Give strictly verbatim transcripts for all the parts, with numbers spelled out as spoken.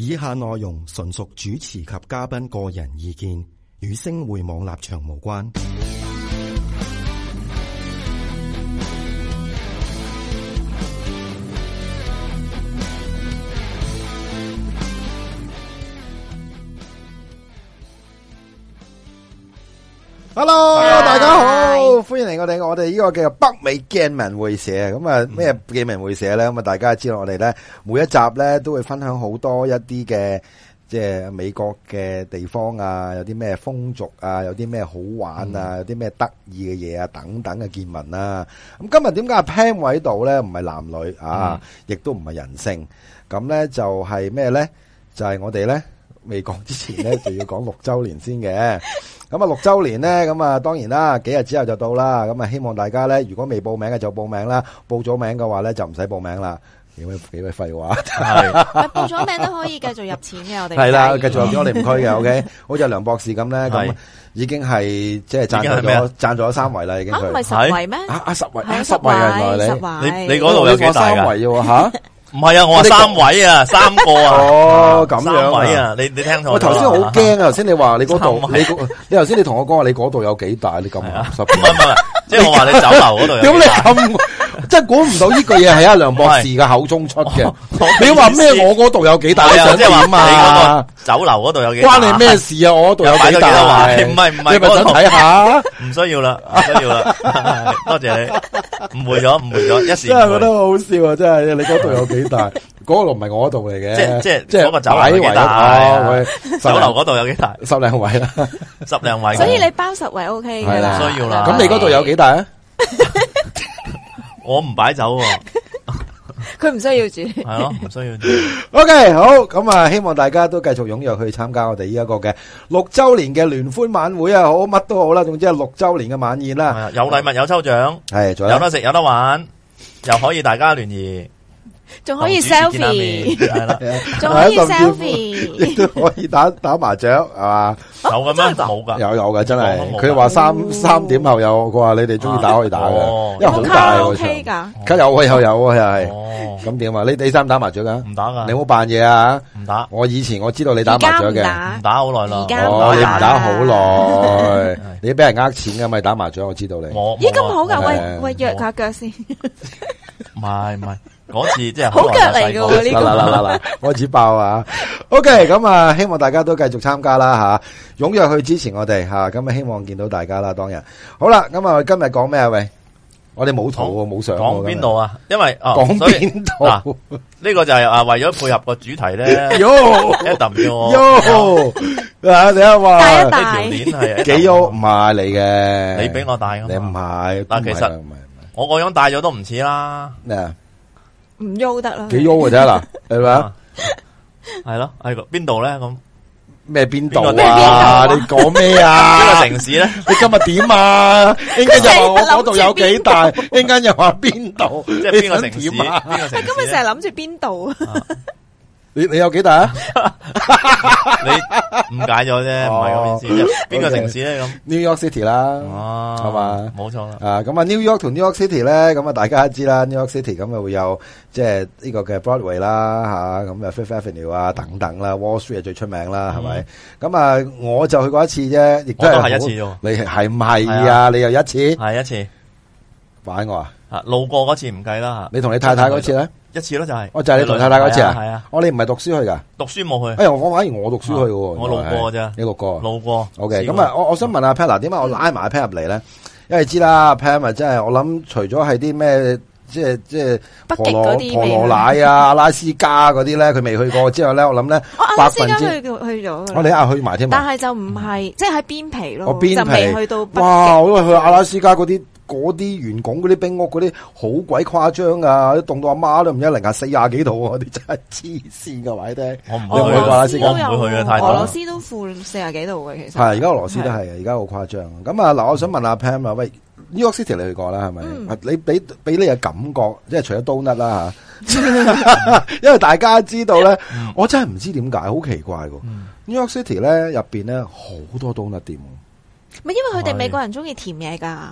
以下內容純屬主持及嘉賓個人意見，與星匯網立場無關。 Hello， 大家好，歡迎嚟我哋我哋呢個叫北美鏡聞會社。咁啊咩鏡聞會社咧？咁啊大家知道我哋咧每一集咧都會分享好多一啲嘅即係美國嘅地方啊，有啲咩風俗啊，有啲咩好玩啊，有啲咩得意嘅嘢啊，等等嘅見聞啦。咁今日點解阿 Pam 喺度咧？唔係男女啊，亦都唔係人性。咁咧就係咩咧？就係我哋咧未講之前咧就要講六周年先嘅。咁啊六周年咧，咁啊當然啦，幾日之後就到啦。咁啊希望大家咧，如果未報名嘅就報名啦，報咗名嘅話咧就唔使報名啦。幾位幾位廢話， 係報咗名都可以繼續入錢嘅，我哋係啦，繼續入錢我哋唔區嘅。OK， 好似梁博士咁咧，咁已經係即係贊助咗贊助咗三圍啦，已經。 吓唔係十圍咩？ 啊啊十圍，十圍啊原來你你你嗰度有幾大㗎？ 三圍喎吓。 唔係啊，我話三位啊，三個啊。 哦，咁樣三位啊，你你聽錯。 我頭先好驚啊！頭先你話你嗰度，你你頭先你同我講話你嗰度有幾大？你咁十？ 唔係唔係，即係我話你酒樓嗰度有幾大。 點你咁？即係估唔到呢句嘢係阿梁博士嘅口中出嘅。你話咩？我嗰度有幾大？你想點啊？ 酒樓嗰度有幾大？ 關你咩事啊？我嗰度有幾大？ 唔係唔係， 你咪想睇下？ 唔需要啦，唔需要啦。多謝你，誤會咗，誤會咗，一時。 真係覺得好好笑啊！真係，你嗰度有幾大？嗰度唔係我嗰度嚟嘅。 即即即係嗰個酒樓有幾大？酒樓嗰度有幾大？ 十零位啦， 十零位。 所以你包十圍 O K 嘅啦。 唔需要啦。 咁你嗰度有幾大啊？ 我唔擺酒喎， 佢唔需要住， 係咯，唔需要住。 OK， 好，咁啊，希望大家都繼續踴躍去參加我哋呢一個嘅六周年嘅聯歡晚會啊，好乜都好啦，總之係六周年嘅晚宴啦， 有禮物有抽獎， 係， 有得食有得玩，又可以大家聯誼。 仲可以 selfie， 係啦， 仲可以 selfie， 亦都可以打打麻雀，係嘛？ 有嘅咩？冇噶， 有有嘅，真係。佢話三三點後有，佢話你哋中意打可以打嘅，因為好大喎。 O K 噶， 卡有啊，有有啊，又係。咁點啊？你你打唔打麻雀噶？ 唔打噶。 你冇扮嘢啊？ 唔打。 我以前我知道你打麻雀嘅， 唔打好耐啦。 哦，你唔打好耐，你俾人呃錢噶咪打麻雀？我知道你。 咦，咁好噶？喂喂，約下腳先。 唔係唔係。嗰次即係好腳嚟嘅喎呢個， 嗱嗱嗱嗱，開始爆啊 ！OK， 咁啊，希望大家都繼續參加啦吓，踴躍去支持我哋吓，咁啊，希望見到大家啦。當日好啦，咁啊，今日講咩啊？喂，我哋冇圖喎，冇相。 講邊度啊？因為講邊度？ 呢個就係啊，為咗配合個主題咧。 喲 ，Adam 叫我。 喲，啊，你啊話帶一帶條鏈係幾喲？唔係你嘅， 你俾我帶噶嘛？ 你唔係， 但其實我個樣帶咗都唔似啦。 咩啊？ 唔喐得啦， 幾喐嘅啫嗱，係咪啊？ 係咯，係個邊度咧？咁咩邊度啊？你講咩啊？ 邊個城市咧？ 你今日點啊？一陣間又話我嗰度有幾大，一陣間又話邊度？ 即係邊個城市？邊個城市？ 今日成日諗住邊度啊？ 你你有幾大啊？ 你誤解咗啫，唔係咁意思。邊個城市咧？咁 New York City 啦， 哦， 係嘛？ 冇錯啦。 啊，咁啊 New York 同 New York City 咧，咁啊大家都知啦 ，New York City 咁啊會有即係呢個嘅 Broadway 啦，吓咁啊 Fifth Avenue 啊等等啦 ，Wall Street 係最出名啦，係咪？咁啊我就去過一次啫，亦都係一次啫。 你係唔係啊？你又一次？ 係一次。 玩我啊？ 啊，路過嗰次唔計啦吓。 你同你太太嗰次咧？ 一次咯，就係。 我就係你同太太嗰次啊？ 係啊。 我哋唔係讀書去噶？ 讀書冇去。 哎呀，我反而我讀書去嘅。 我路過咋？ 你路過？ 路過。 OK，咁啊，我我想問阿 Pam，點解我拉埋阿 Pam 入嚟咧？因為你知啦 ，Pam 啊，真係我諗，除咗係啲咩，即係即係婆羅婆羅乃啊、阿拉斯加嗰啲咧，佢未去過之後咧，我諗咧，百分之去去咗。 我哋啊去埋添。 但係就唔係，即係喺邊皮咯， 就未去到北極。 哇！因為去阿拉斯加嗰啲。嗰啲圓拱嗰啲冰屋嗰啲好鬼誇張啊！啲凍到阿媽都唔一零下四廿幾度啊！啲真係黐線噶，話你聽。 我唔會去阿拉斯加， 唔會去嘅太多。 俄羅斯都負四廿幾度嘅，其實係而家俄羅斯都係，而家好誇張。咁啊嗱，我想問阿 Pam 啊，喂 ，New York City 你去過啦，係咪？嗯、你俾俾你嘅感覺，即係除咗 donut 啦吓，因為大家知道咧，嗯、我真係唔知點解，好奇怪嘅。嗯、New York City 咧入邊咧好多 donut 店。 咪因為佢哋美國人中意甜嘢噶。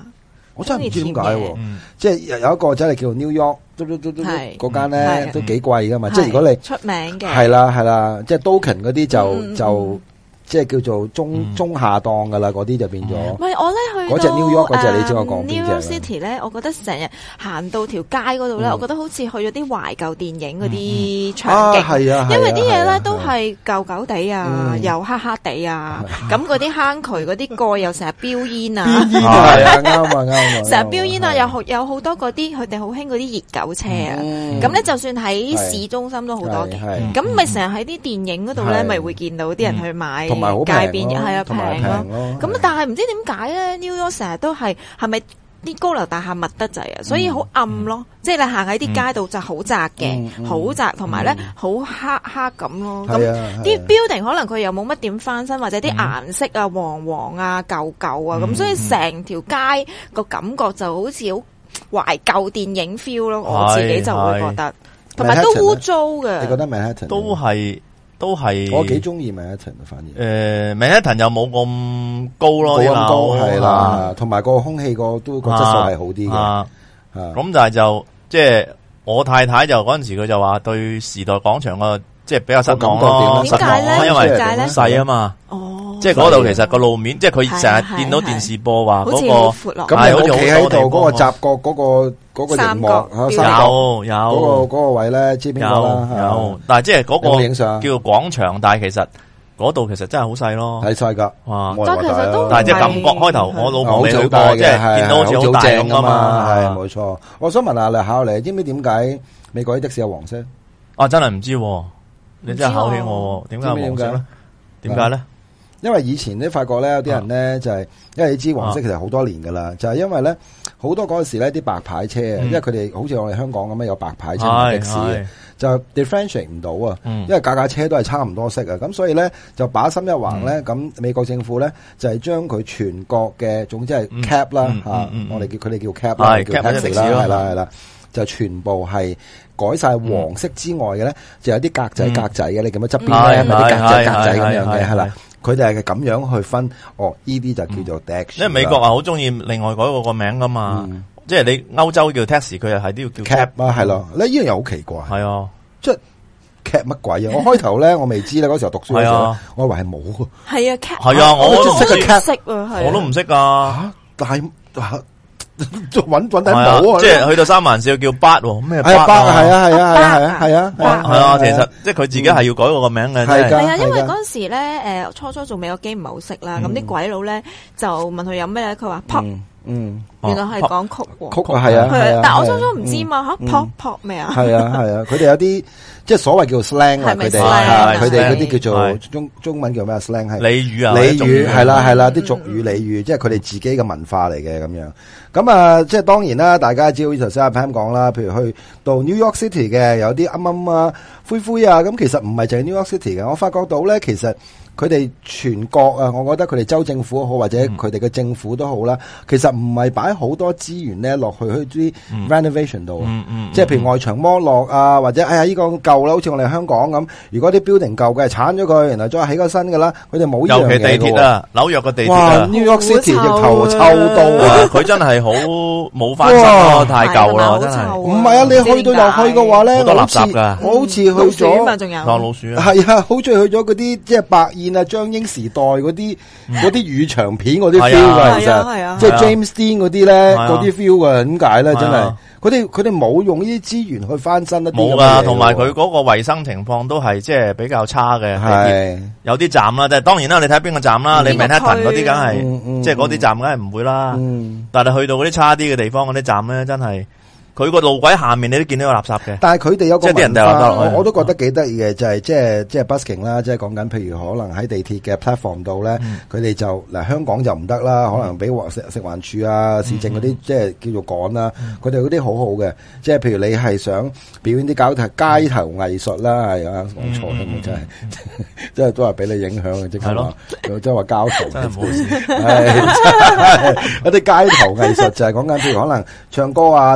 我真係唔知點解喎， 嗯即係有一個仔係叫 New York，嘟嘟嘟嘟係嗰間咧係都幾貴噶嘛， 係即係如果你出名嘅係啦係啦，即係 Dokken 嗰啲就嗯就即係叫做中嗯中下檔噶啦，嗰啲就變咗。 唔係我咧去嗰隻 New York 嗰隻你知我講邊隻 New 啦 York City 咧，我覺得成日行到條街嗰度咧， 嗯我覺得好似去咗啲懷舊電影嗰啲啊場景。 係啊， 因為啲嘢係啊咧都係舊舊地啊， 嗯又黑黑地啊，咁嗰啲坑渠嗰啲蓋又成日飆煙啊， 邊煙啊係啊啱啊啱啊， 成日飆煙啊， 係有好有好多嗰啲佢哋好興嗰啲熱狗車啊， 嗯咁咧就算喺市中心都好多嘅。 係係咁咪成日喺啲電影嗰度咧， 係咪會見到啲人去買同埋好街平咯邊係啊同埋平咯。 咯咁但係唔知點解咧，New York 成日都係係咪啲高樓大廈密得滯啊？所以好暗咯，即係你行喺啲街度就好窄嘅嗯，嗯好窄，同埋咧好黑黑咁咯。咁係啊啲係啊 building 可能佢又冇乜點翻新，或者啲顏色啊黃黃啊舊舊啊，咁所以成條街個感覺就好似好懷舊電影 feel 咯。我自己就會覺得，同埋都污糟嘅。 你覺得 Manhattan 都係都係我幾中意 Manhattan 反而。 誒 Manhattan 又冇咁高咯， 冇咁高啲樓係啦，同埋個空氣個都個質素係好啲嘅。 啊啊咁但係就即係我太太就嗰陣時佢就話對時代廣場個即係比較失望咯， 點解咧？ 因為點解咧？ 細啊嘛， 哦， 即係嗰度其實個路面，即係佢成日見到電視播話好似嗰好闊落。 咁你好企喺度嗰個閘角嗰個嗰個熒幕三角嚇三角有有嗰個嗰個位咧，知邊個啦？ 有有，但係即係嗰有冇影相個叫做廣場，但係其實嗰度其實真係好細咯。 睇晒㗎， 哇！ 冇人話大咯但係其實都但係隻感覺開頭我老婆未去過， 好大嘅即係見到好似好大咁啊嘛。 係冇錯。我想問下你考你，知唔知點解美國啲的士有黃色？ 啊，真係唔知喎，你真係考起我喎，點解有黃色咧？點解咧？ 因為以前咧發覺咧有啲人咧就係，因為你知黃色其實好多年噶啦，就係因為咧好多嗰陣時咧啲白牌車啊，因為佢哋好似我哋香港咁樣有白牌車同的士嘅，就 differentiate 唔到啊，因為架架車都係差唔多色啊，咁所以咧就把心一橫咧，咁美國政府咧就係將佢全國嘅總之係 cap 啦嚇，我哋叫佢哋叫 cap 啦，叫 taxi 啦，係啦係啦，就全部係改晒黃色之外嘅咧，就有啲格仔格仔嘅，你咁樣側邊咧咪啲格仔格仔咁樣嘅係啦。佢哋係咁樣去分，哦，呢啲就叫做 taxi。 因為美國啊，好中意另外改個個名噶嘛，即係你歐洲叫 taxi，佢又係都要叫 cab 啊，係咯。呢樣又好奇怪， 係啊， 即係 cab 乜鬼啊？我開頭咧，我未知咧，嗰時候讀書嗰時候，我以為係冇。 係啊 cab 係啊，我都識個 cab， 識啊， 我都唔識噶。 但係就揾揾底冇啊！ 即係去到三藩市叫巴喎，咩係啊，巴係啊，係啊，係啊，係啊， 係啊， 係啊，其實即係佢自己係要改個個名嘅， 係㗎係啊，因為嗰陣時咧，誒初初做美國機唔係好識啦，咁啲鬼佬咧就問佢有咩咧，佢話 pop， 嗯， 原來係講曲喎， 曲啊，係啊，係啊， 但係我初初唔知嘛嚇 pop pop 咩啊？ 係啊，係啊，佢哋有啲即係所謂叫 slang 啊，佢哋佢哋嗰啲叫做中中文叫咩 slang 係俚語啊， 俚語係啦係啦，啲俗語俚語，即係佢哋自己嘅文化嚟嘅咁樣。咁啊，即係當然啦，大家知好似頭先阿 Pam 講啦，譬如去到 New York City 嘅有啲啱啱啊、灰灰啊，咁其實唔係淨係 New York City 嘅，我發覺到咧，其實佢哋全國啊，我覺得佢哋州政府好，或者佢哋嘅政府都好啦，其實唔係擺好多資源咧落去去啲 renovation 度，即係譬如外牆剝落啊，或者哎呀呢個舊啦，好似我哋香港咁，如果啲 building 舊嘅，鏟咗佢，然後再起個新嘅啦，佢哋冇呢樣嘢嘅喎。 尤其地鐵啊，紐約嘅地鐵啊 ，New York City 直頭臭到啊！ 佢真係好冇翻新咯，太舊啦，真係。 唔係啊，你去到又去嘅話咧， 好多垃圾㗎， 我好似去咗， 仲有當老鼠啊， 係啊，好似去咗嗰啲即係白燕啊、張英時代嗰啲嗰啲雨場片嗰啲 feel 㗎，其實即係 James Dean 嗰啲咧嗰啲 feel 㗎，點解咧？真係佢哋佢哋冇用呢啲資源去翻新一啲冇㗎，同埋佢嗰個衞生情況都係即係比較差嘅，係有啲站啦，即係當然啦，你睇邊個站啦，你 Manhattan 嗰啲梗係即係嗰啲站梗係唔會啦，但係去到嗰啲差啲嘅地方嗰啲站咧，真係。佢個路軌下面你都見到有垃圾嘅， 但係佢哋有個即係啲人掉垃圾落去， 我都覺得幾得意嘅，就係即係即係 busking 啦，即係講緊譬如可能喺地鐵嘅 platform 度咧，佢哋就嗱香港就唔得啦，可能俾食食環署啊、市政嗰啲即係叫做趕啦，佢哋嗰啲好好嘅，即係譬如你係想表演啲街頭街頭藝術啦，係啊講錯添啊，真係即係都係俾你影響嘅，即係話即係話交頭真係唔好意思， 係一啲街頭藝術就係講緊譬如可能唱歌啊、打 band。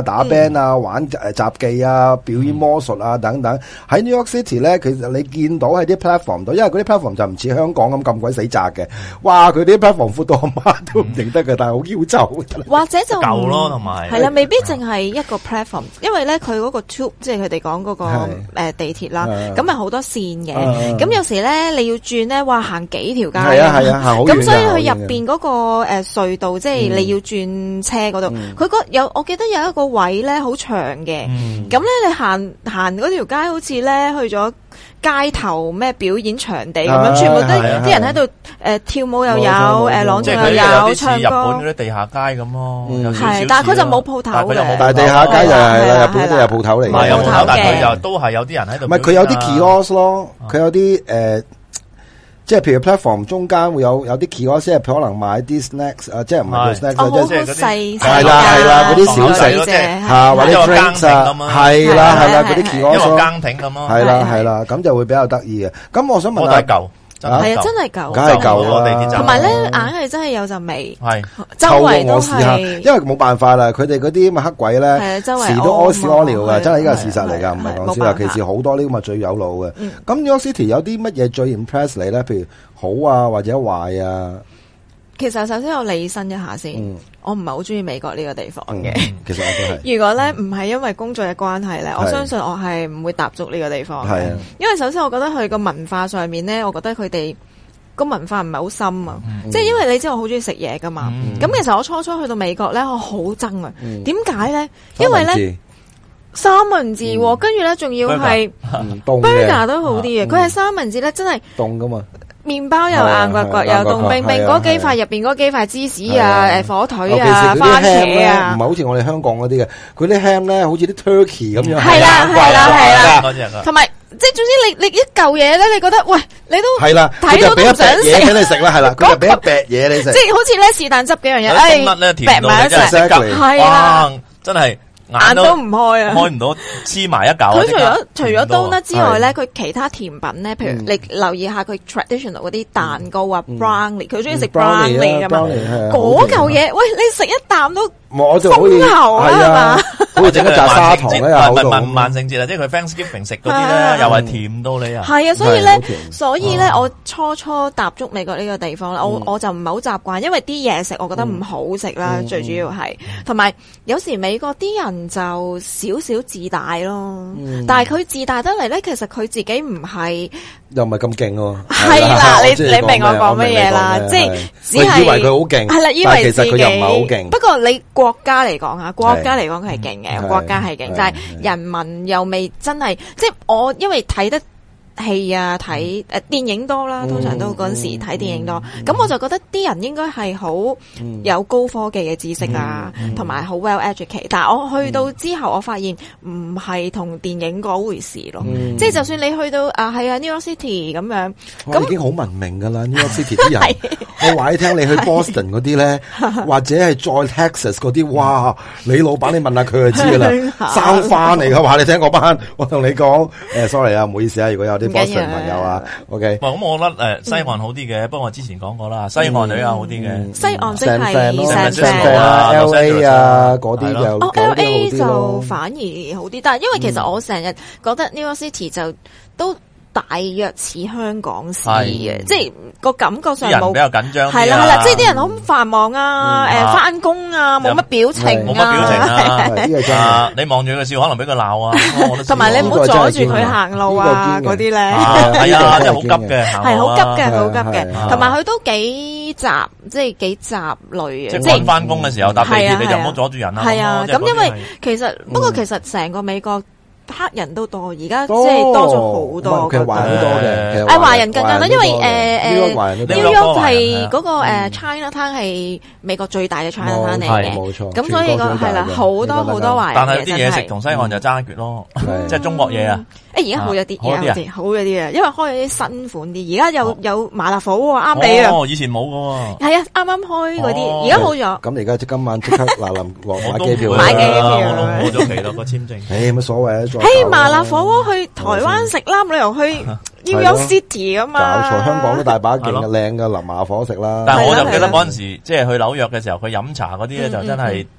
band 啊，玩誒雜技啊，表演魔術啊等等。喺 New York City 咧，其實你見到喺啲 platform 度，因為嗰啲 platform 就唔似香港咁咁鬼死窄嘅。哇！佢啲 platform 闊到阿媽都唔認得嘅，但係好嬌醜。 或者就舊咯，同埋係啦，未必淨係一個 platform，因為咧佢嗰個 tube 即係佢哋講嗰個誒地鐵啦，咁係好多線嘅。咁有時咧你要轉咧，哇行幾條街。係啊係啊，行好遠。咁所以佢入邊嗰個誒隧道，即係你要轉車嗰度，佢嗰有我記得有一個位咧好長嘅。咁咧你行行嗰條街，好似咧去咗街頭咩表演場地咁樣，全部都啲人喺度誒跳舞又有，誒朗誦又有，唱歌。日本嗰啲地下街咁咯，係，但係佢就冇鋪頭嘅。但係地下街就係啦，日本都有鋪頭嚟嘅。 唔係有鋪頭，但係佢就都係有啲人喺度。 唔係佢有啲 kiosk 咯，佢有啲誒。即係譬如 platform 中間會有有啲 kiosk， 即係可能買啲 snacks 啊，即係唔係叫 snacks， 即係細係啦係啦嗰啲小食嚇，或者 drinks 啊，係啦係啦嗰啲 kiosk， 一個更亭咁咯，係啦係啦，咁就會比較得意嘅。咁我想問下。 係啊，真係舊， 梗係舊啦。 同埋咧，硬係真係有陣味， 係周圍都係。 因為冇辦法啦，佢哋嗰啲咁嘅黑鬼咧，時都屙屎屙尿嘅，真係呢個係事實嚟㗎，唔係講笑。尤其是好多呢咁嘅最有腦嘅。咁 New York City 有啲乜嘢最 impress 你咧？譬如好啊，或者壞啊？ 其實首先我理身一下先，我唔係好中意美國呢個地方嘅。 其實我都係。如果咧唔係因為工作嘅關係咧，我相信我係唔會踏足呢個地方嘅。係啊，因為首先我覺得佢個文化上面咧，我覺得佢哋個文化唔係好深啊。即係因為你知我好中意食嘢噶嘛。咁其實我初初去到美國咧，我好憎啊。點解咧？因為咧三文治，跟住咧仲要係 burger 都好啲嘅。佢係三文治咧，真係凍噶嘛。麵包又硬刮刮，又凍冰冰，嗰幾塊入邊嗰幾塊芝士啊，誒火腿啊，番茄啊， 唔係好似我哋香港嗰啲嘅，佢啲 ham 咧好似啲 turkey 咁樣， 係啦係啦係啦，同埋即係總之你你一嚿嘢咧，你覺得喂你都係啦， 睇到都唔想食， 俾你食啦係啦，佢就俾一餅嘢你食， 即係好似咧是但執幾樣嘢，誒，夾埋一齊，係啦， 真係。 眼都唔開啊， 開唔到，黐埋一嚿。 佢除咗除咗 donut 之外咧，佢其他甜品咧，譬如你留意下佢 traditional 嗰啲蛋糕啊 brownie，佢中意食 brownie 噶嘛，嗰嚿嘢，喂，你食一啖都我就好似係嘛，好似整一紮砂糖咧，又好到。 萬萬聖節啊，即係佢 Thanksgiving 食嗰啲咧，又係甜到你啊。 係啊，所以咧，所以咧，我初初踏足美國呢個地方咧，我我就唔係好習慣，因為啲嘢食我覺得唔好食啦，最主要係，同埋有時美國啲人。就少少自大咯，嗯、但係佢自大得嚟咧，其實佢自己唔係又唔係咁勁喎。 係啦，你你明我講乜嘢啦？即係只係以為佢好勁， 係啦，以為其實佢又唔係好勁。 不過你國家嚟講吓，國家嚟講佢係勁嘅，國家係勁，但係人民又未真係，即係我因為睇得。戲啊，睇誒電影多啦，通常都嗰陣時睇電影多，咁、嗯、我就覺得啲人應該係好有高科技嘅知識啊，同埋好 well educated。但係我去到之後，我發現唔係同電影嗰回事咯。嗯、即係就算你去到啊，係啊 New York City 咁樣，咁已經好文明噶啦。New York City 啲人，我話你聽，你去 Boston 嗰啲咧，或者係再 Texas 嗰啲，哇！你老闆你問下佢就知噶啦，生翻嚟嘅話，你聽嗰班，我同你講，誒 sorry 啊，唔好意思啊，如果有啲。Boston 朋友啊 ，OK。 咁我覺得誒西岸好啲嘅，不過我之前講過啦，西岸就比較好啲嘅。 西岸即係 San Fran 啊、L A 啊嗰啲就哦 L A 就反而好啲，但係因為其實我成日覺得 New York City 就都。大約似香港市嘅，即係個感覺上冇比較緊張， 係啦係啦，即係啲人好繁忙啊，誒翻工啊，冇乜表情， 冇乜表情啊，呢個真係你望住佢笑，可能俾佢鬧啊， 同埋你唔好阻住佢行路啊，嗰啲咧， 係啊，真係好急嘅， 係好急嘅，好急嘅，同埋佢都幾雜，即係幾雜類嘅， 即係翻工嘅時候搭地鐵你就唔好阻住人啦， 係啊，咁因為其實不過其實成個美國。黑人都多，而家即係多咗好多。 其實華人都多嘅， 誒華人更加多，因為誒誒 New York 係嗰個誒 China Town 係美國最大嘅 China Town 嚟嘅，冇錯。咁所以個係啦，好多好多華人。 但係啲嘢食同西岸就爭一橛咯，即係中國嘢啊！ 誒而家好咗啲，而家好啲，好咗啲啊！因為開咗啲新款啲，而家有有麻辣火鍋啱你啊！ 哦，以前冇㗎喎。 係啊，啱啱開嗰啲，而家好咗。 咁你而家即今晚即刻嗱臨買機票， 買機票， 過咗期咯個簽證。 誒乜所謂啊？ 誒麻辣火鍋去台灣食啦，旅遊去 New York City 㗎嘛。 搞錯，香港都大把勁嘅靚嘅淋麻火食啦。 但係我就記得嗰陣時，即係去紐約嘅時候，佢飲茶嗰啲咧就真係。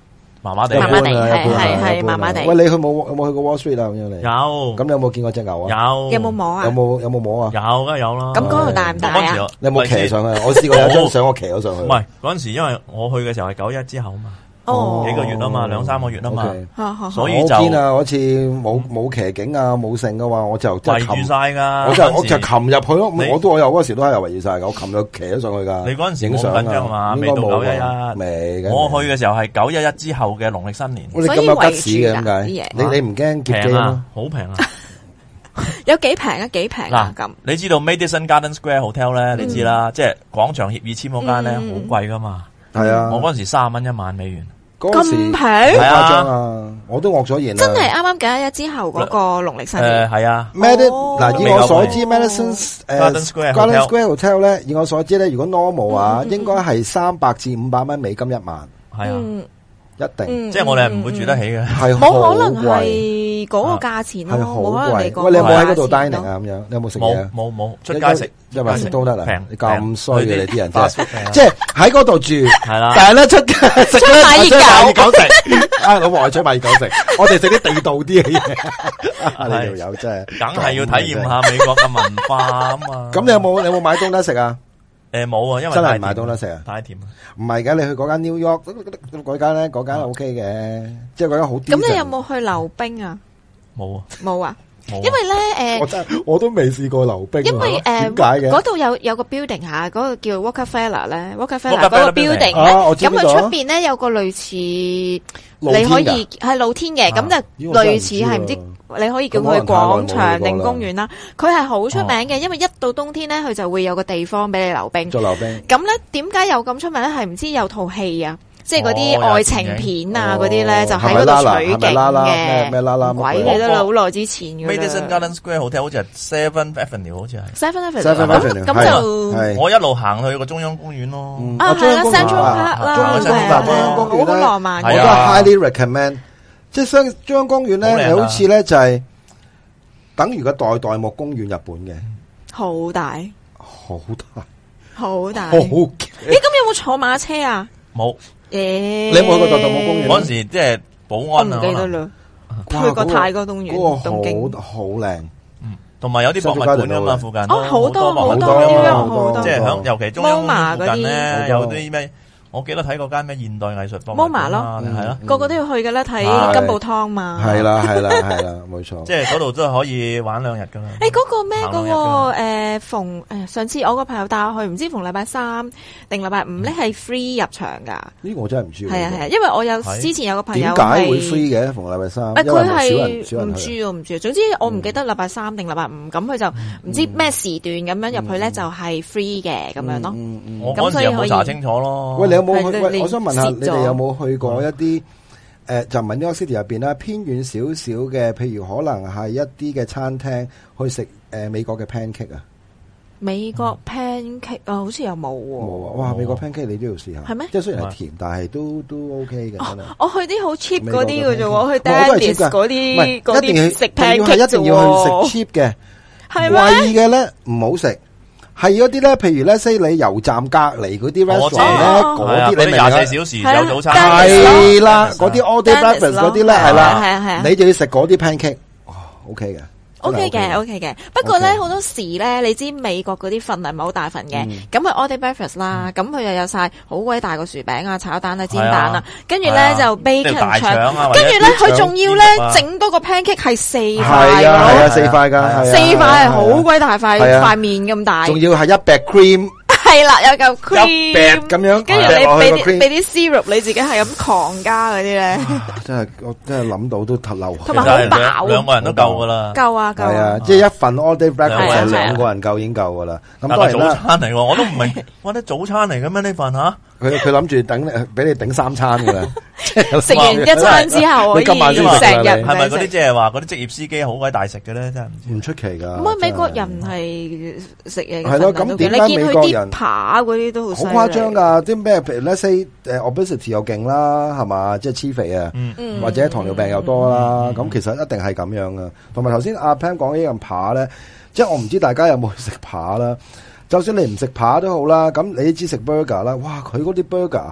麻麻地， 麻麻地， 一般啊係一般啊係係一般啊麻麻地。 喂，你去冇有冇去過 Wall Street 啊？咁樣你有， 咁你有冇見過隻牛啊？ 有， 有冇摸啊？ 有冇有冇摸啊？ 有梗係有啦。 咁嗰度大唔大啊？ 你有冇騎上去？我試過有張相，我騎咗上去。 唔係嗰陣時，因為我去嘅時候係九一之後嘛。 哦， 幾個月啊嘛，兩三個月啊嘛， okay. 所以就我見啊，嗰次冇冇騎警啊，冇剩嘅話，我就即係圍住晒噶。 我就我就擒入去咯。我都我有嗰時都係圍住晒噶，我擒咗騎咗上去噶。 你嗰陣時影相緊張嘛？未到九一一， 未。 我去嘅時候係九一一之後嘅農曆新年。 你咁有吉士嘅點解？你你唔驚劫機啊？ 好平啊！ 有幾平啊？幾平啊？咁你知道 Madison Garden Square Hotel 咧？你知啦，即係廣場協議簽嗰間咧，好貴噶嘛。 係啊， 我嗰陣時三十蚊一晚美元。 咁平， 誇張啊！我都惡咗言啦。 真係啱啱九一一之後嗰個農曆新年。 誒係啊。 嗱，以我所知 ，Madison 誒 Garden Square Hotel 咧，以我所知咧，如果 normal 啊，應該係三百至五百蚊美金一晚。 係啊。 一定， 即係我哋係唔會住得起嘅， 係冇可能係嗰個價錢咯，冇可能你講。 喂，你有冇喺嗰度 dining 啊？咁樣，你有冇食嘢啊？ 冇冇出街食， 一晚食都得啦。 平， 你咁衰嘅你啲人真係，即係喺嗰度住， 係啦。 但係咧出街食咧， 買熱狗食。啊，老婆係出買熱狗食，我哋食啲地道啲嘅嘢。呢條友真係， 梗係要體驗下美國嘅文化啊嘛。 咁你有冇你有冇買東德食啊？ 誒冇啊，因為真係買東德食啊， 太甜啊。 唔係嘅，你去嗰間 New York 嗰間咧，嗰間 O K 嘅，即係嗰間好。 咁你有冇去溜冰啊？ 冇啊， 冇啊，因為咧誒， 我真係我都未試過溜冰。 因為誒， 點解嘅？ 嗰度有有個 building 嚇，嗰個叫 Rockefeller 咧，Rockefeller 嗰個 building 咧，咁佢出邊咧有個類似你可以係露天嘅，咁就類似係唔知。你可以叫佢廣場定公園啦，佢係好出名嘅，因為一到冬天咧，佢就會有個地方俾你溜冰。 做溜冰。咁咧，點解有咁出名咧？係唔知有套戲啊，即係嗰啲愛情片啊，嗰啲咧就喺嗰度取景嘅。 咩啦啦？ 鬼你都好耐之前嘅。 Madison Garden Square Hotel 好似係 Seventh Avenue， 好似係。 Seventh Avenue。咁就我一路行去個中央公園咯。 啊，係啦 Central Park 啦， 中央公園好浪漫。 我都 highly recommend。即係相中央公園咧，好似咧就係等於個代代木公園日本嘅， 好大， 好大， 好大。 好。誒， 咁有冇坐馬車啊？ 冇。 誒， 你有冇去過代代木公園？ 嗰陣時即係保安啊， 唔記得啦。去過泰國東園，東京好靚。 嗯，同埋有啲博物館啊嘛，附近哦好多好多好多，即係響尤其中央公園附近咧，有啲咩？我記得睇過間咩現代藝術博物館咯，係咯， 個個都要去嘅啦，睇金寶湯嘛。 係啦，係啦，係啦，冇錯。 即係嗰度都係可以玩兩日噶啦。 誒，嗰個咩嘅誒逢誒上次我個朋友帶我去，唔知逢禮拜三定禮拜五咧係 free 入場噶。 呢個我真係唔知。 係啊係啊，因為我有之前有個朋友點解會 free 嘅逢禮拜三？ 誒，佢係唔知啊唔知啊，總之我唔記得禮拜三定禮拜五，咁佢就唔知咩時段咁樣入去咧就係 free 嘅咁樣咯。 我嗰陣時有冇查清楚咯？ 喂，你有冇去？喂，我想問下你哋有冇去過一啲誒，就唔係 New York City 入邊啦，偏遠少少嘅，譬如可能係一啲嘅餐廳去食誒美國嘅 pancake 啊？ 美國 pancake 啊，好似又冇喎。 冇啊！哇，美國 pancake 你都要試下。 係咩？ 即係雖然係甜，但係都都 OK 嘅。真係。 我去啲好 cheap 嗰啲嘅啫，我去 Dennis 嗰啲嗰啲食 pancake 一定要去食 cheap 嘅， 係咩？ 貴嘅咧唔好食。係嗰啲咧，譬如咧，西里油站隔籬嗰啲 restaurant 咧，嗰啲你廿四小時有早餐， 係啦，嗰啲 all day breakfast 嗰啲咧，係啦， 係啊係啊， 你就要食嗰啲 pancake，哦 OK 嘅 ，OK 嘅 OK 嘅。不過咧好多時咧，你知美國嗰啲份係唔係好大份嘅，咁佢 all day breakfast 啦，咁佢又有晒好鬼大個薯餅啊、炒蛋啊、煎蛋啊，跟住咧就 bacon 腸，跟住咧佢仲要咧整多個 pancake 係四塊， 係啊係啊四塊噶， 四塊係好鬼大塊塊面咁大， 仲要係一劈 cream。 係啦，有嚿 cream 咁樣， 跟住你俾啲俾啲 syrup，你自己係咁狂加嗰啲咧。 真係我真係諗到都頭流。 同埋好飽， 兩個人都夠噶啦。 夠啊夠。 係啊，即係一份 all day breakfast 係兩個人夠已經夠噶啦。咁當然早餐嚟喎，我都唔明，哇！啲早餐嚟嘅咩呢份吓？ 佢佢諗住等你俾你頂三餐噶啦。 食完一餐之後， 你今晚先成日係咪嗰啲即係話嗰啲職業司機好鬼大食嘅咧？真係唔知。 唔出奇噶。 唔係美國人係食嘢嘅。 係咯，咁點解美國人扒嗰啲都好好誇張噶？啲咩譬如 let's say 誒 obesity 又勁啦，係嘛？即係黐肥啊，或者糖尿病又多啦。咁其實一定係咁樣噶。同埋頭先阿 Pan 講呢樣扒咧，即係我唔知大家有冇去食扒啦。就算你唔食扒都好啦，咁你知食 burger 啦，哇！佢嗰啲 burger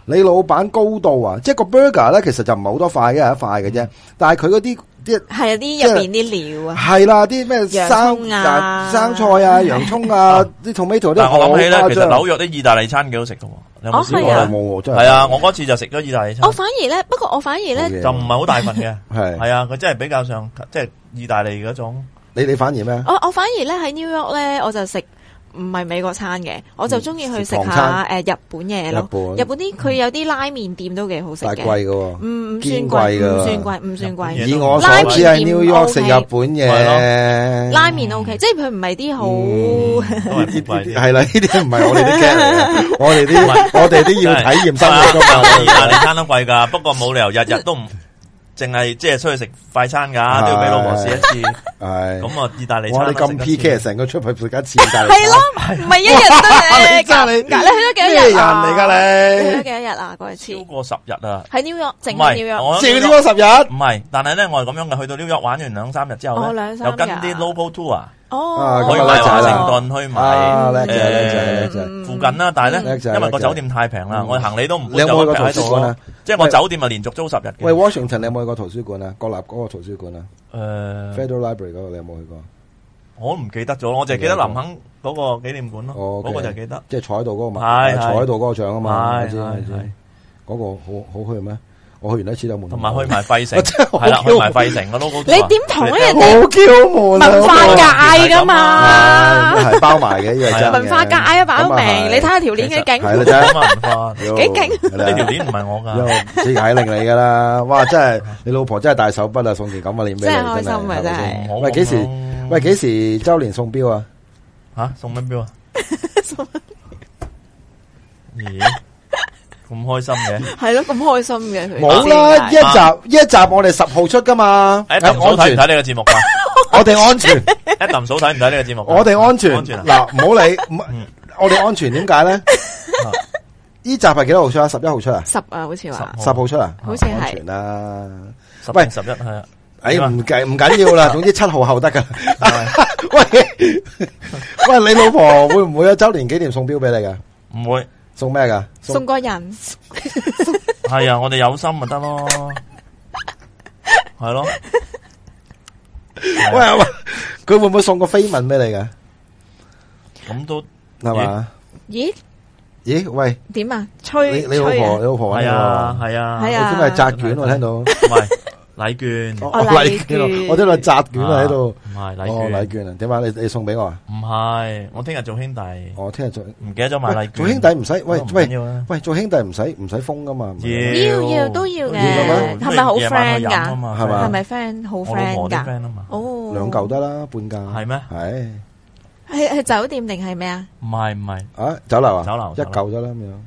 你老闆高度啊，即係個 burger 咧，其實就唔係好多塊嘅，一塊嘅啫。但係佢嗰啲啲係有啲入邊啲料啊， 係啦，啲咩生啊、 生菜啊、洋蔥啊、啲 tomato 啲。 但係我諗起咧，其實紐約啲意大利餐幾好食噶。你有冇試過？ 冇，真係。 係啊，我嗰次就食咗意大利餐。 我反而咧，不過我反而咧就唔係好大份嘅。 係係啊，佢真係比較上即係意大利嗰種。 你你反而咩？ 我我反而咧喺 New York 咧，我就食。唔係美國餐嘅，我就中意去食下誒日本嘢咯。日本啲佢有啲拉麵店都幾好食嘅， 但係貴嘅喎， 唔唔算貴，唔算貴，唔算貴。 以我所知係 New York 食日本嘢， 拉麵 OK，即係佢唔係啲好係啦，呢啲唔係我哋啲 get 嚟嘅，我哋啲我哋啲要體驗生活㗎嘛。 意大利餐都貴㗎，不過冇理由日日都唔。淨係即係出去食快餐噶，都要俾老婆試一次。係咁啊，意大利餐。 哇！你咁 P K 成個出去食一次意大利餐。 係咯，唔係一日得嘅。 真係你， 你去咗幾多日？ 咩人嚟噶你？ 去咗幾多日啊？嗰次超過十日啊！ 喺 New York，淨係 New York， 淨係 New York 十日。 唔係，但係咧我係咁樣嘅，去到 New York 玩完兩三日之後咧，又跟啲 local tour。 哦， 去埋華盛頓，去埋誒附近啦，但係咧，因為個酒店太平啦，我行李都唔會就喺度咯。即係我酒店咪連續租十日嘅。 喂 ，Washington 你有冇去過圖書館啊？國立嗰個圖書館啊？誒 Federal Library 嗰個你有冇去過？ 我唔記得咗，我淨係記得林肯嗰個紀念館咯。嗰個就記得。 即係坐喺度嗰個嘛？ 係坐喺度嗰個獎啊嘛？ 係係嗰個好好去咩？我去完一次就悶， 同埋去埋費城，係啦，去埋費城個 logo。 你點同人哋好嬌悶文化界噶嘛？ 係包埋嘅，呢個真文化界啊，擺明你睇下條鏈幾勁， 係啦，真係文化幾勁。 呢條鏈唔係我噶， 即係令你噶啦。哇，真係你老婆真係大手筆啊，送件咁嘅鏈俾你， 真係開心啊，真係。 喂，幾時？喂，幾時周年送錶啊？ 吓，送乜錶啊？咦？咁開心嘅， 係咯，咁開心嘅佢。 冇啦，一集一集我哋十號出噶嘛。 誒，林嫂睇唔睇呢個節目噶？ 我哋安全。 誒，林嫂睇唔睇呢個節目？ 我哋安全。嗱，唔好理，我哋安全點解咧？呢集係幾多號出啊？十一號出啊？ 十啊，好似話。 十號出啊？ 好似係。 安全啦。 喂，十一係啊。 誒，唔計唔緊要啦，總之七號後得噶。喂喂，你老婆會唔會有周年紀念送錶俾你噶？ 唔會。 送咩噶？ 送個人。 係啊，我哋有心咪得咯，係咯。 喂喂，佢會唔會送個飛吻俾你噶？ 咁都係嘛？ 咦？ 咦？喂？ 點啊？吹你你老婆你老婆係啊係啊係啊， 我點解係紮卷我聽到？ 唔係。禮券， 哦禮券，我聽到紮卷啊喺度， 唔係禮券，哦禮券啊，點解你你送俾我啊？ 唔係，我聽日做兄弟， 我聽日做， 唔記得咗買禮券。 做兄弟唔使，喂喂喂，做兄弟唔使唔使封噶嘛？ 要要都要嘅，係咪好 friend 噶？係嘛？係咪 friend 好 friend 噶？哦， 兩嚿得啦，半價係咩？ 係係係酒店定係咩啊？ 唔係唔係啊酒樓啊？ 酒樓一嚿得啦咁樣。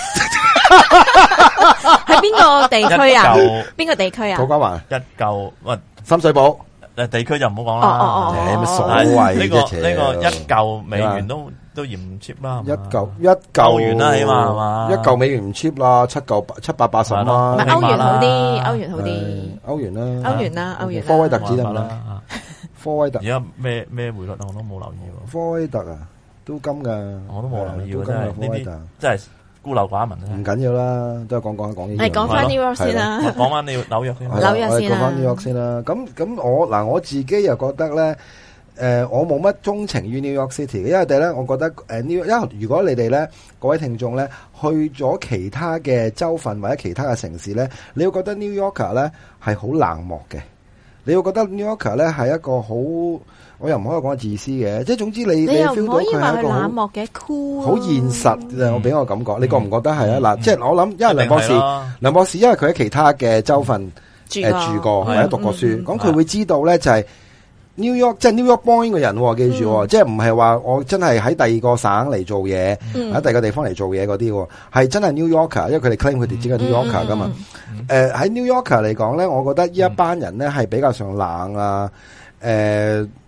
喺邊個地區啊？邊個地區啊？ 土瓜灣一嚿，喂， 深水埗誒，地區就唔好講啦。 哦哦哦，乜所謂呢個呢個一嚿美元都都嫌唔 cheap 啦。 一嚿一嚿歐元啦，起碼係嘛？ 一嚿美元唔 cheap 啦，七嚿七百八十啦。 唔係歐元好啲，歐元好啲。 歐元啦， 歐元啦，歐元。 科威特指得唔得？科威特而家咩咩匯率我都冇留意。 科威特啊，都金噶， 我都冇留意。 真係呢啲真係。孤陋寡聞啊！ 唔緊要啦，都係講講講呢啲。 係講翻 New York 先啦， 講翻你紐約先。 紐約先啦。 講翻 New York 先啦。咁咁我嗱我自己又覺得咧，誒我冇乜鍾情於 New York City 嘅，因為第咧，我覺得誒 New，因為如果你哋咧各位聽眾咧去咗其他嘅州份或者其他嘅城市咧，你會覺得 New Yorker 咧係好冷漠嘅，你會覺得 New Yorker 咧係一個好。我又唔可以講自私嘅，即係總之你你 feel 到佢係一個好冷漠嘅 cool， 好現實。我俾我感覺，你覺唔覺得係啊？嗱，即係我諗，因為梁博士，梁博士因為佢喺其他嘅州份誒住過或者讀過書，咁佢會知道咧就係 New York，即係 New York born 嘅人，記住，即係唔係話我真係喺第二個省嚟做嘢，喺第二個地方嚟做嘢嗰啲，係真係 New Yorker，因為佢哋 claim 佢哋自己係 New Yorker 噶嘛。誒喺 New Yorker 嚟講咧，我覺得呢一班人咧係比較上冷啊，誒。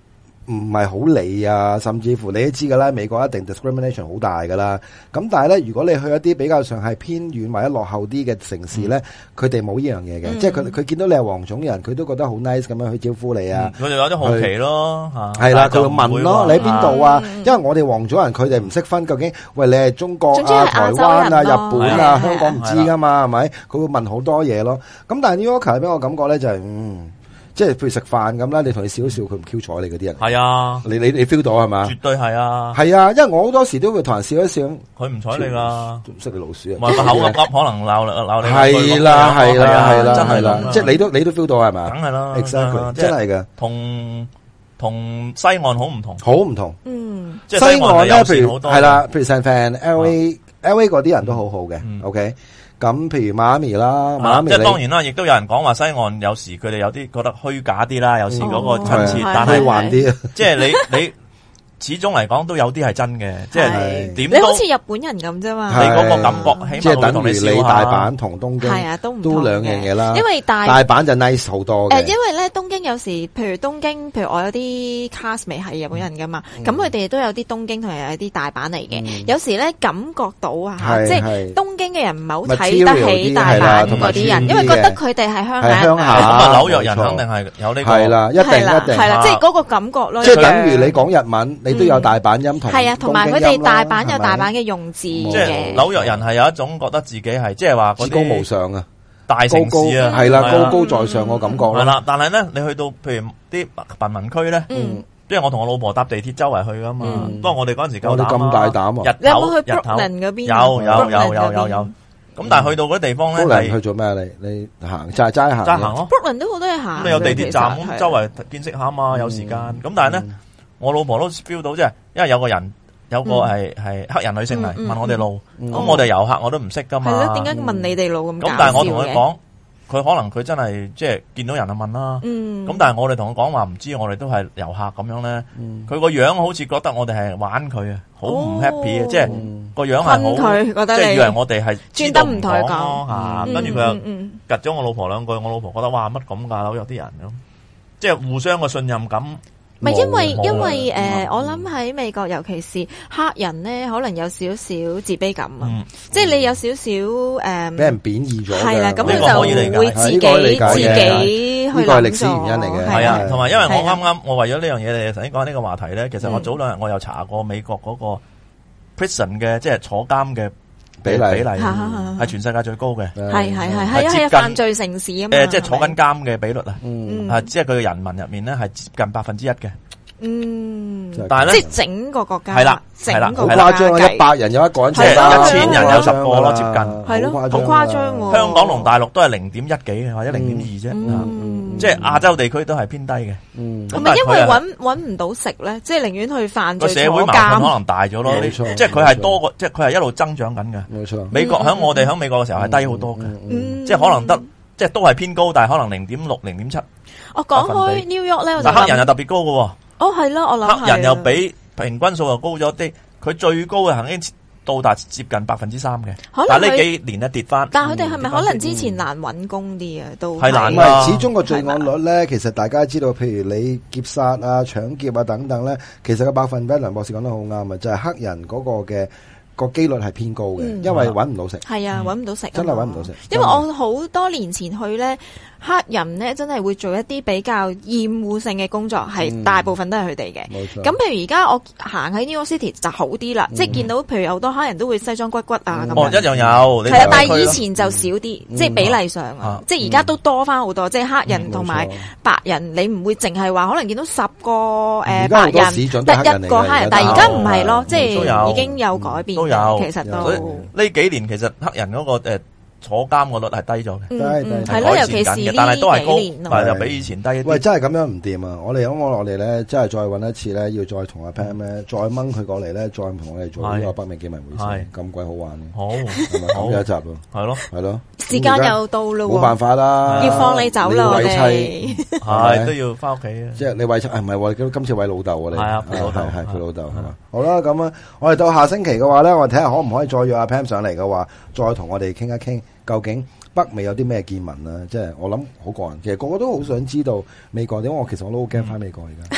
唔係好理啊，甚至乎你都知噶啦，美國一定 discrimination 好大噶啦。咁但係咧，如果你去一啲比較上係偏遠或者落後啲嘅城市咧，佢哋冇呢樣嘢嘅，嗯、即係佢佢見到你係黃種人，佢都覺得好 nice 咁樣去招呼你啊。 佢哋有啲好奇咯， 係啦，佢會問咯，你喺邊度啊？嗯、因為我哋黃種人，佢哋唔識分究竟，喂，你係中國啊、台灣啊、日本啊、香港唔知噶嘛，係咪？佢會問好多嘢咯。咁但係 New Yorker 俾我感覺咧就係、是，嗯。即係譬如食飯咁啦，你同佢笑一笑，佢唔 Q 睬你嗰啲人。 係啊， 你你你 feel 到係嘛？ 絕對係啊。 係啊，因為我好多時都會同人笑一笑。佢唔睬你噶， 唔識你老鼠啊！ 個口噏噏，可能鬧鬧你。 係啦係啦係啦係啦，即係你都你都 feel 到係嘛？ 梗係啦 ，exactly，真係嘅。 同同西岸好唔同， 好唔同。 嗯， 西岸咧，譬如係啦，譬如 San Fran、L A、L A 嗰啲人都好好嘅。OK。咁譬如馬咪啦，馬咪即係當然啦，亦都有人講話西岸有時佢哋有啲覺得虛假啲啦，有時嗰個親切，但係還啲， 即係你你始終嚟講都有啲係真嘅，即係點都你好似日本人咁啫嘛， 你嗰個感覺起碼會同你笑下。 即係等於你大阪同東京係啊，都唔都兩樣嘢啦。 因為大大阪就 nice 好多嘅。 誒，因為咧東京有時，譬如東京，譬如我有啲 castmate 係日本人噶嘛，咁佢哋都有啲東京同埋有啲大阪嚟嘅。有時咧感覺到啊，即係東京嘅人唔係好睇得起大阪嗰啲人，因為覺得佢哋係鄉下。 鄉下。 咁啊，紐約人肯定係有呢個。 係啦，一定一定。 係啦，即係嗰個感覺咯。 即係等於你講日文，你都有大阪音同係啊，同埋佢哋大阪有大阪嘅用字嘅。 即係紐約人係有一種覺得自己係即係話至高無上啊， 大城市啊， 係啦，高高在上個感覺咯。 係啦，但係咧，你去到譬如啲貧民區咧，即係我同我老婆搭地鐵周圍去噶嘛。不過我哋嗰陣時夠膽啊， 咁大膽啊！ 你有冇去 Brooklyn 嗰邊？ 有有有有有有。咁但係去到嗰啲地方咧， 係去做咩？你你行就係齋行， 齋行咯。 Brooklyn 都好多嘢行。 咁你有地鐵站咁周圍見識下嘛，有時間。咁但係咧，我老婆都 feel 到即係，因為有個人。有個係係黑人女性嚟問我哋路，咁我哋遊客我都唔識噶嘛。 係咯，點解問你哋路咁搞笑嘅？ 咁但係我同佢講，佢可能佢真係即係見到人就問啦。咁但係我哋同佢講話唔知，我哋都係遊客咁樣咧。佢個樣好似覺得我哋係玩佢啊，好唔 happy 啊，即係個樣係好，即係以為我哋係專登唔同佢講吓。跟住佢又夾咗我老婆兩句，我老婆覺得哇乜咁噶，有啲人咁，即係互相嘅信任感。 唔係因為因為誒，我諗喺美國，尤其是黑人咧，可能有少少自卑感啊，即係你有少少誒， 俾人貶義咗， 係啦，咁佢就會自己自己去呢個係歷史原因嚟嘅， 係啊，同埋因為我啱啱我為咗呢樣嘢，你頭先講呢個話題咧，其實我早兩日我又查過美國嗰個 prison 嘅即係坐監嘅比例比例係全世界最高嘅， 係係係係係犯罪城市啊嘛， 誒即係坐緊監嘅比率啊，啊即係佢嘅人民入面咧係接近百分之一嘅。 嗯， 但係咧， 即係整個國家係啦， 係啦， 好誇張啊！一百人有一個人， 即係一千人有十個咯，接近係咯，好誇張。 香港同大陸都係零點一幾或者零點二啫，即係亞洲地區都係偏低嘅。 係咪因為搵搵唔到食咧？即係寧願去犯罪坐監。 個社會矛盾可能大咗咯，即係佢係多個，即係佢係一路增長緊嘅。 冇錯，美國響我哋響美國嘅時候係低好多嘅，即係可能得，即係都係偏高，但係可能零點六、零點七。 我講開 New York 咧， 但黑人又特別高嘅。 哦，係咯，我諗黑人又比平均數又高咗啲，佢最高嘅曾經到達接近百分之三嘅，但係呢幾年咧跌翻。 但係佢哋係咪可能之前難揾工啲啊？都係難啊！始終個罪案率咧，其實大家知道，譬如你劫殺啊、搶劫啊等等咧，其實個百分比，梁博士講得好啱啊，就係黑人嗰個嘅個機率係偏高嘅，因為揾唔到食。係啊，揾唔到食， 真係揾唔到食。 因為我好多年前去咧。黑人咧真係會做一啲比較厭惡性嘅工作，係、嗯、大部分都係佢哋嘅。冇錯。咁譬如而家我行喺 New York City 就好啲啦，嗯、即係見到譬如有好多黑人都會西裝骨骨啊咁、嗯、樣。哦，一樣有。係啊，但係以前就少啲，嗯、即係比例上啊，嗯、即係而家都多翻好多。嗯、即係黑人同埋白人，你唔會淨係話可能見到十個誒、呃、白人得一個黑人，但係而家唔係咯，即係已經有改變。都有，其實都呢幾年其實黑人嗰、嗰個誒。坐監個率係低咗嘅， 係咯，尤其是但係都係高，但係又比以前低一啲。 喂，真係咁樣唔掂啊！我哋咁我落嚟咧，真係再搵一次咧，要再同阿 Pam 咧，再掹佢過嚟咧，再同我哋做呢個北美見聞會先，咁鬼好玩嘅。好，係咪咁有一集咯？係咯，係咯。 時間又到咯， 冇辦法啦， 要放你走啦，我哋係都要翻屋企啊！ 即係你餵妻，係唔係喎？今次餵老豆啊！你係啊，佢老豆係佢老豆係嘛？好啦，咁啊，我哋到下星期嘅話咧，我哋睇下可唔可以再約阿 Pam 上嚟嘅話，再同我哋傾一傾，究竟北美有啲咩見聞啊？即係我諗好過癮，其實個個都好想知道美國點。我其實我都好驚翻美國而家。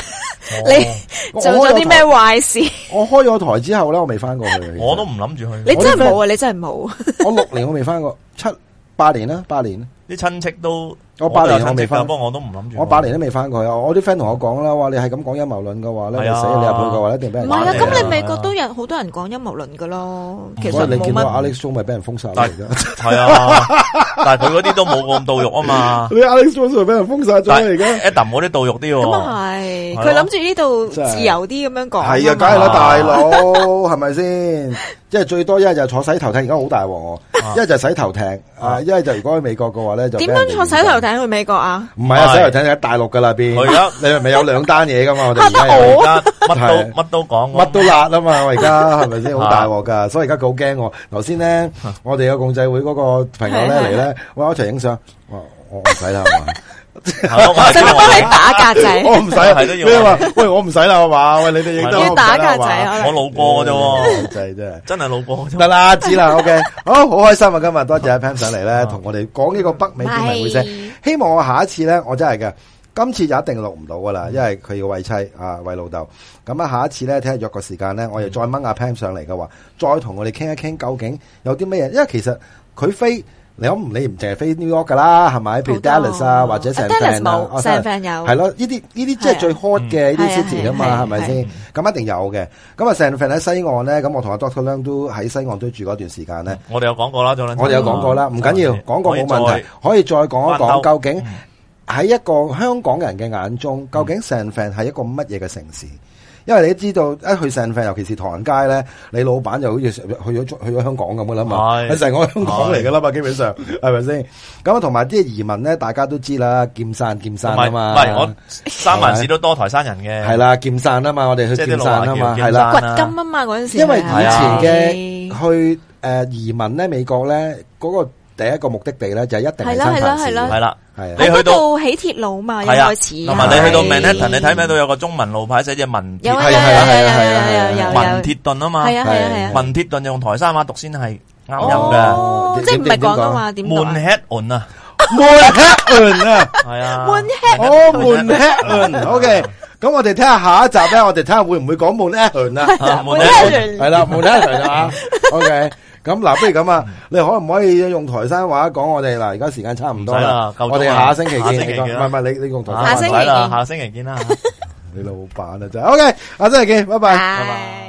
你做咗啲咩壞事？ 我開咗台之後咧，我未翻過去。 我都唔諗住去。 你真係冇啊！你真係冇。 我六年我未翻過，七八年啦，八年。 啲親戚都。 我八年我未翻， 不過我都唔諗住。 我八年都未翻過去。我啲 friend 同我講啦，話你係咁講陰謀論嘅話咧，你死你入去嘅話一定俾人。 唔係啊，咁你美國都有好多人講陰謀論噶咯。其實你見到 Alex Jones 咪俾人封殺嚟㗎？ 係啊，但係佢嗰啲都冇咁到肉啊嘛。 你 Alex Jones 咪俾人封殺咗而家 Adam 嗰啲到肉啲喎。 咁啊係，佢諗住呢度自由啲咁樣講。 係啊，梗係啦，大佬係咪先？即係最多一係就坐洗頭艇，而家好大鑊。一係就洗頭艇，啊，一係就如果去美國嘅話咧，就點樣坐洗頭艇去美國啊？ 唔係啊，洗頭艇喺大陸噶啦邊。 而家你係咪有兩單嘢噶嘛？我哋而家而家乜都乜都講， 乜都辣啊嘛！我而家係咪先好大鑊噶？所以而家佢好驚我。頭先咧，我哋有共濟會嗰個朋友咧嚟咧，喂，我一齊影相。我我唔使啦，係嘛？ 使乜幫你打格仔？ 我唔使，係都要。咩話？喂，我唔使啦，係嘛？喂，你哋影得要打格仔， 我路過嘅啫， 真係真係真係路過。 得啦，知啦 ，OK，好，好開心啊！今日多謝阿 Pam 上嚟咧，同我哋講呢個北美見聞會社。希望我下一次咧，我真係嘅，今次就一定錄唔到噶啦，因為佢要餵妻啊，餵老豆。咁啊，下一次咧，睇下約個時間咧，我又再掹阿 Pam 上嚟嘅話，再同我哋傾一傾，究竟有啲咩嘢？因為其實佢飛。你唔你唔淨係飛 New York 噶啦，係咪？譬如 Dallas 啊，或者 San Fran 啊 San Fran 有係咯，呢啲呢啲即係最 hot 嘅呢啲 city 啊嘛，係咪先？咁一定有嘅。咁啊 San Fran 喺西岸咧，咁我同阿 Doctor Leung 都喺西岸都住嗰段時間咧。 我哋有講過啦，我哋有講過啦，唔緊要，講過冇問題，可以再講一講究竟喺一個香港人嘅眼中，究竟 San Fran 係一個乜嘢嘅城市？因為你都知道一去 San Fran，尤其是唐人街咧，你老闆就好似去咗去咗香港咁噶啦嘛，係成個香港嚟噶啦嘛，基本上係咪先？咁啊，同埋啲移民咧，大家都知啦，劍山劍山啊嘛， 唔係我三藩市都多台山人嘅， 係啦，劍山啊嘛，我哋去劍山啊嘛，係啦， 掘金啊嘛嗰陣時， 因為以前嘅去誒移民咧，美國咧嗰個第一個目的地咧就一定係三藩市， 係啦。 係你去到起鐵路嘛，一開始， 同埋你去到 Manhattan，你睇唔睇到有個中文路牌寫住文鐵？ 有係係係係係文鐵頓啊嘛， 係啊係啊係啊， 文鐵頓用台山話讀先係啱音嘅， 即係唔係講啊嘛？點讀啊 ？Manhattan 啊 ，Manhattan 啊，係啊 ，Manhattan， 哦 ，Manhattan，OK。咁我哋睇下下一集咧，我哋睇下會唔會講 Manhattan 啊 ？Manhattan 係啦 ，Manhattan 啊 ，OK。咁嗱，不如咁啊，你可唔可以用台山話講我哋嗱？而家時間差唔多啦，我哋下星期見。唔係唔係，你你用台山話。 下星期見， 下星期見啦。 你老闆啊真係 OK，下星期見，拜拜。 拜拜。